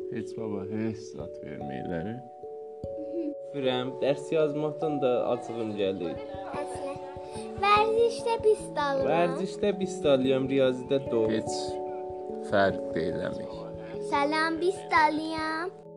Heç baba, heç zat verməkləri. Bilmirəm, dərs yazmaqdan da acığım gəlir. Vərzişdə pis dalıram. Vərzişdə pis dalıram, riyazidə doğru. Heç fərq də eləmir. Salam pis dalıyam.